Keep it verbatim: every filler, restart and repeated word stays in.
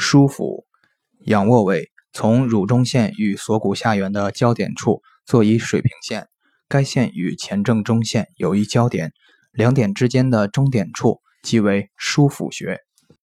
枢府，仰卧位，从乳中线与锁骨下缘的交点处作一水平线，该线与前正中线有一交点，两点之间的中点处即为枢府穴。